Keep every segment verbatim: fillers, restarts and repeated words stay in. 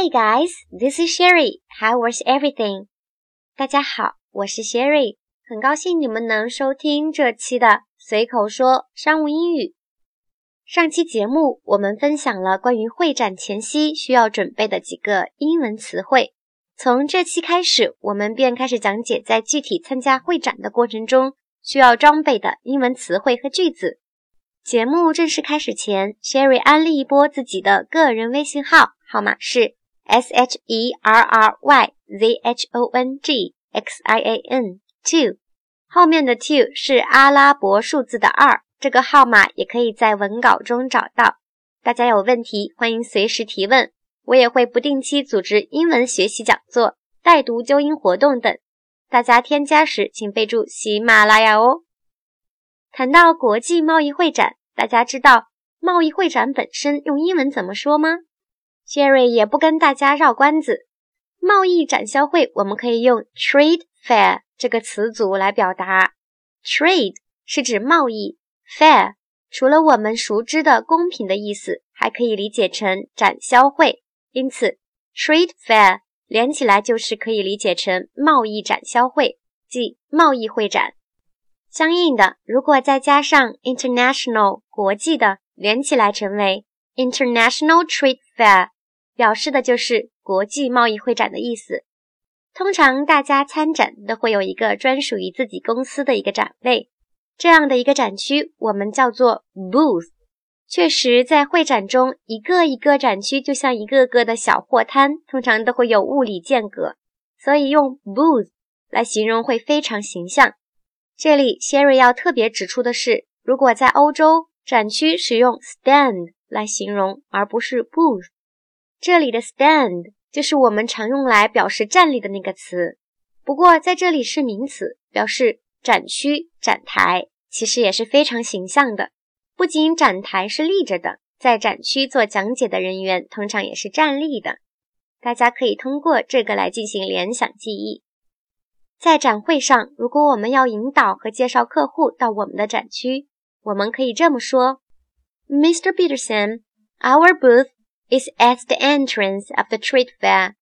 guys, this is Sherry. How was everything? 大家好，我是 Sherry， 很高兴你们能收听这期的随口说商务英语。上期节目我们分享了关于会展前夕需要准备的几个英文词汇。从这期开始，我们便开始讲解在具体参加会展的过程中需要装备的英文词汇和句子。节目正式开始前 Sherry 安利一波自己的个人微信号，号码是 S H E R R Y Z H O N G X I A N 二， 后面的二是阿拉伯数字的二，这个号码也可以在文稿中找到。大家有问题欢迎随时提问，我也会不定期组织英文学习讲座、带读纠音活动等，大家添加时请备注喜马拉雅哦。谈到国际贸易会展，大家知道贸易会展本身用英文怎么说吗？ Sherry 也不跟大家绕关子，贸易展销会我们可以用 trade fair 这个词组来表达。 Trade 是指贸易， fair 除了我们熟知的公平的意思，还可以理解成展销会，因此 trade fair 连起来就是可以理解成贸易展销会，即贸易会展。相应的，如果再加上 international 国际的，连起来成为 international trade fair， 表示的就是国际贸易会展的意思。通常大家参展都会有一个专属于自己公司的一个展位，这样的一个展区我们叫做 booth。 确实在会展中，一个一个展区就像一个个的小货摊，通常都会有物理间隔，所以用 booth 来形容会非常形象。这里 Sherry 要特别指出的是，如果在欧洲，展区使用 stand 来形容，而不是 booth。 这里的 stand 就是我们常用来表示站立的那个词，不过在这里是名词，表示展区、展台，其实也是非常形象的。不仅展台是立着的，在展区做讲解的人员通常也是站立的，大家可以通过这个来进行联想记忆。在展会上，如果我们要引导和介绍客户到我们的展区，我们可以这么说 Mister Peterson, our booth is at the entrance of the trade fair.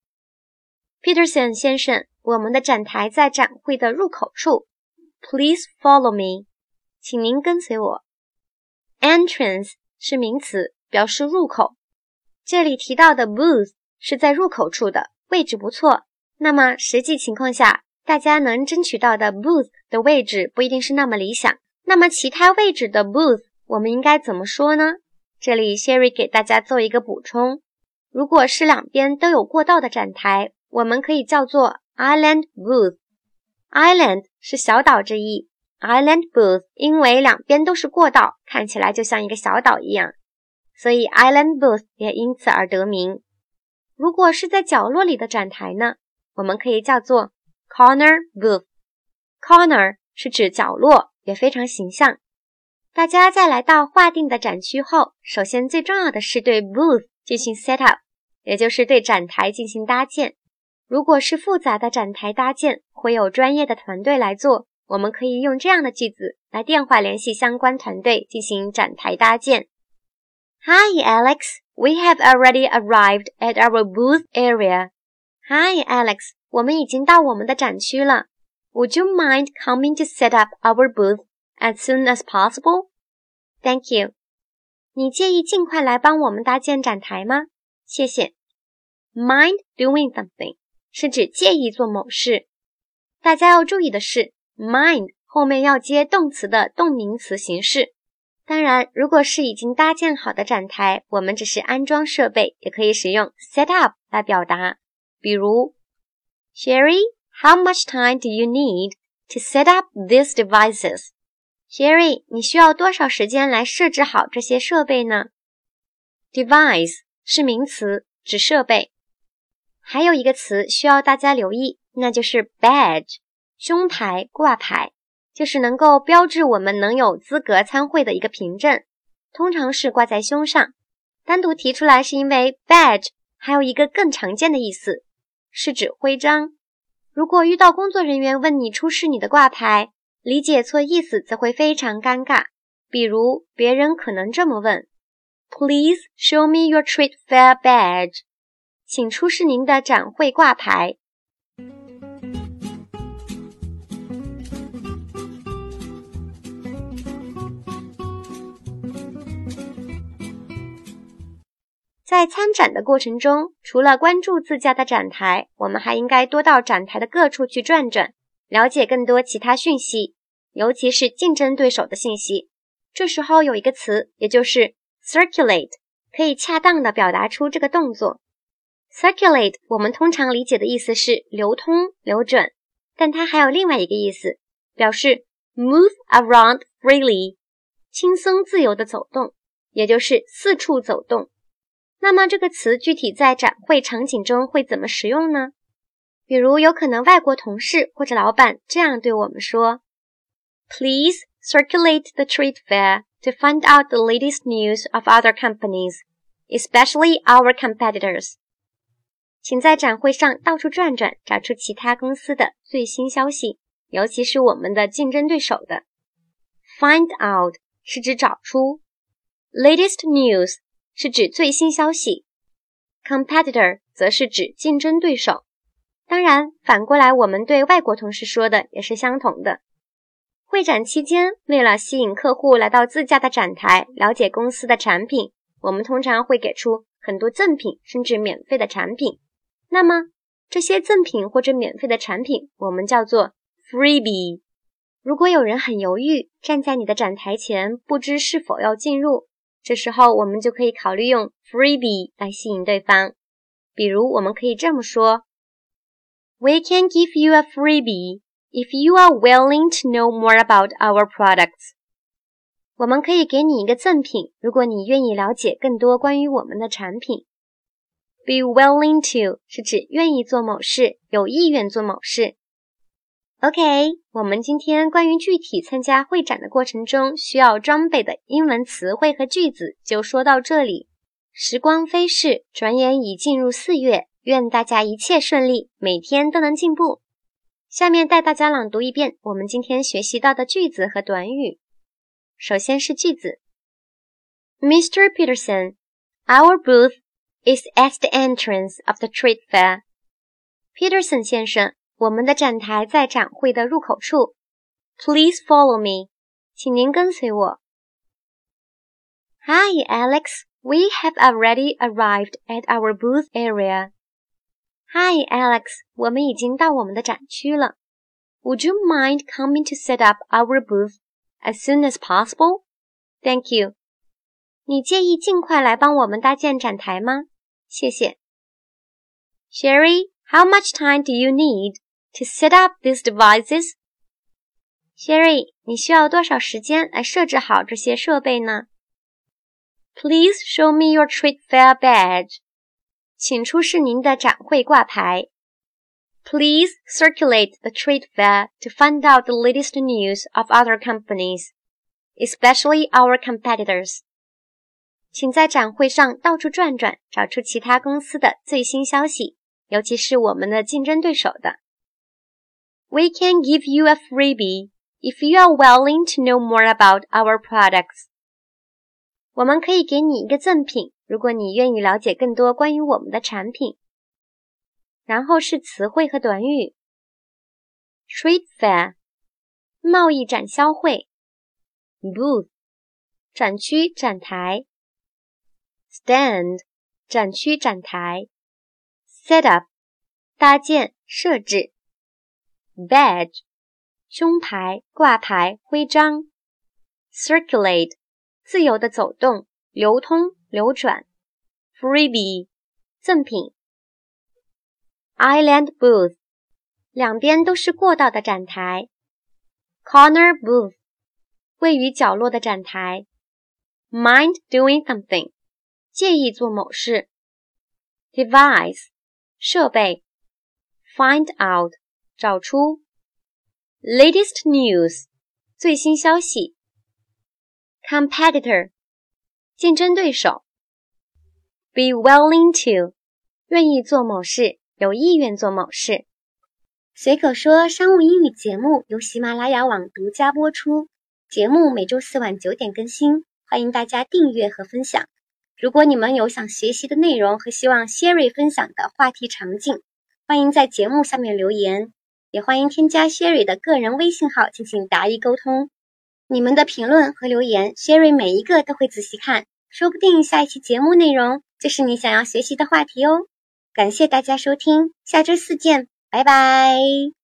Peterson 先生，我们的展台在展会的入口处。 Please follow me. 请您跟随我。 Entrance 是名词，表示入口。这里提到的 booth 是在入口处的，位置不错。那么实际情况下，大家能争取到的 booth 的位置不一定是那么理想，那么其他位置的 booth 我们应该怎么说呢？这里 Sherry 给大家做一个补充，如果是两边都有过道的展台，我们可以叫做 island booth。 Island 是小岛之意， island booth 因为两边都是过道，看起来就像一个小岛一样，所以 island booth 也因此而得名。如果是在角落里的展台呢，我们可以叫做Corner booth。 Corner 是指角落，也非常形象。大家在来到划定的展区后，首先最重要的是对 booth 进行 set up， 也就是对展台进行搭建。如果是复杂的展台搭建，会有专业的团队来做，我们可以用这样的句子来电话联系相关团队进行展台搭建。 Hi Alex, we have already arrived at our booth area. Hi Alex,我们已经到我们的展区了。 Would you mind coming to set up our booth as soon as possible? Thank you. 你介意尽快来帮我们搭建展台吗？谢谢。 Mind doing something 是指介意做某事。大家要注意的是 mind 后面要接动词的动名词形式。当然，如果是已经搭建好的展台，我们只是安装设备，也可以使用 set up 来表达。比如Sherry, how much time do you need to set up these devices? Sherry, 你需要多少时间来设置好这些设备呢？ Device 是名词，指设备。还有一个词需要大家留意，那就是 badge， 胸牌、挂牌，就是能够标志我们能有资格参会的一个凭证，通常是挂在胸上。单独提出来是因为 badge 还有一个更常见的意思，是指徽章。如果遇到工作人员问你出示你的挂牌，理解错意思则会非常尴尬。比如别人可能这么问 Please show me your trade fair badge， 请出示您的展会挂牌。在参展的过程中，除了关注自家的展台，我们还应该多到展台的各处去转转，了解更多其他讯息，尤其是竞争对手的信息。这时候有一个词，也就是 circulate， 可以恰当地表达出这个动作。circulate 我们通常理解的意思是流通、流转，但它还有另外一个意思，表示 move around freely， 轻松自由地走动，也就是四处走动。那么这个词具体在展会场景中会怎么使用呢？比如有可能外国同事或者老板这样对我们说 Please circulate the trade fair to find out the latest news of other companies, especially our competitors. 请在展会上到处转转，找出其他公司的最新消息，尤其是我们的竞争对手的。Find out 是指找出， latest news是指最新消息， competitor 则是指竞争对手。当然，反过来我们对外国同事说的也是相同的。会展期间，为了吸引客户来到自家的展台，了解公司的产品，我们通常会给出很多赠品，甚至免费的产品。那么，这些赠品或者免费的产品，我们叫做 freebie。如果有人很犹豫，站在你的展台前，不知是否要进入，这时候我们就可以考虑用 freebie 来吸引对方。比如我们可以这么说 We can give you a freebie if you are willing to know more about our products. 我们可以给你一个赠品，如果你愿意了解更多关于我们的产品。Be willing to 是指愿意做某事，有意愿做某事。OK， 我们今天关于具体参加会展的过程中需要装备的英文词汇和句子就说到这里。时光飞逝，转眼已进入四月，愿大家一切顺利，每天都能进步。下面带大家朗读一遍我们今天学习到的句子和短语。首先是句子 Mister Peterson, our booth is at the entrance of the trade fair. Peterson 先生，我们的展台在展会的入口处。Please follow me. 请您跟随我。Hi, Alex. We have already arrived at our booth area. Hi, Alex. 我们已经到我们的展区了。Would you mind coming to set up our booth as soon as possible? Thank you. 你介意尽快来帮我们搭建展台吗？谢谢。Sherry, how much time do you need to set up these devices? Sherry, 你需要多少时间来设置好这些设备呢？ Please show me your trade fair badge. 请出示您的展会挂牌。Please circulate the trade fair to find out the latest news of other companies, especially our competitors. 请在展会上到处转转，找出其他公司的最新消息，尤其是我们的竞争对手的。We can give you a freebie if you are willing to know more about our products. 我们可以给你一个赠品，如果你愿意了解更多关于我们的产品。然后是词汇和短语。Trade fair 贸易展销会。Booth 展区展台。Stand 展区展台。Set up 搭建设置。Badge 胸牌挂牌徽章。Circulate 自由的走动流通流转。Freebie 赠品。Island booth 两边都是过道的展台。Corner booth 位于角落的展台。Mind doing something 介意做某事。Device 设备。Find out 找出。Latest news 最新消息。Competitor 竞争对手。Be willing to 愿意做某事，有意愿做某事。随口说商务英语节目由喜马拉雅网独家播出，节目每周四晚九点更新，欢迎大家订阅和分享。 如果你们有想学习的内容和希望 Sherry 分享的话题场景，欢迎在节目下面留言，也欢迎添加 Sherry 的个人微信号进行答疑沟通。你们的评论和留言 Sherry 每一个都会仔细看，说不定下一期节目内容就是你想要学习的话题哦。感谢大家收听，下周四见，拜拜。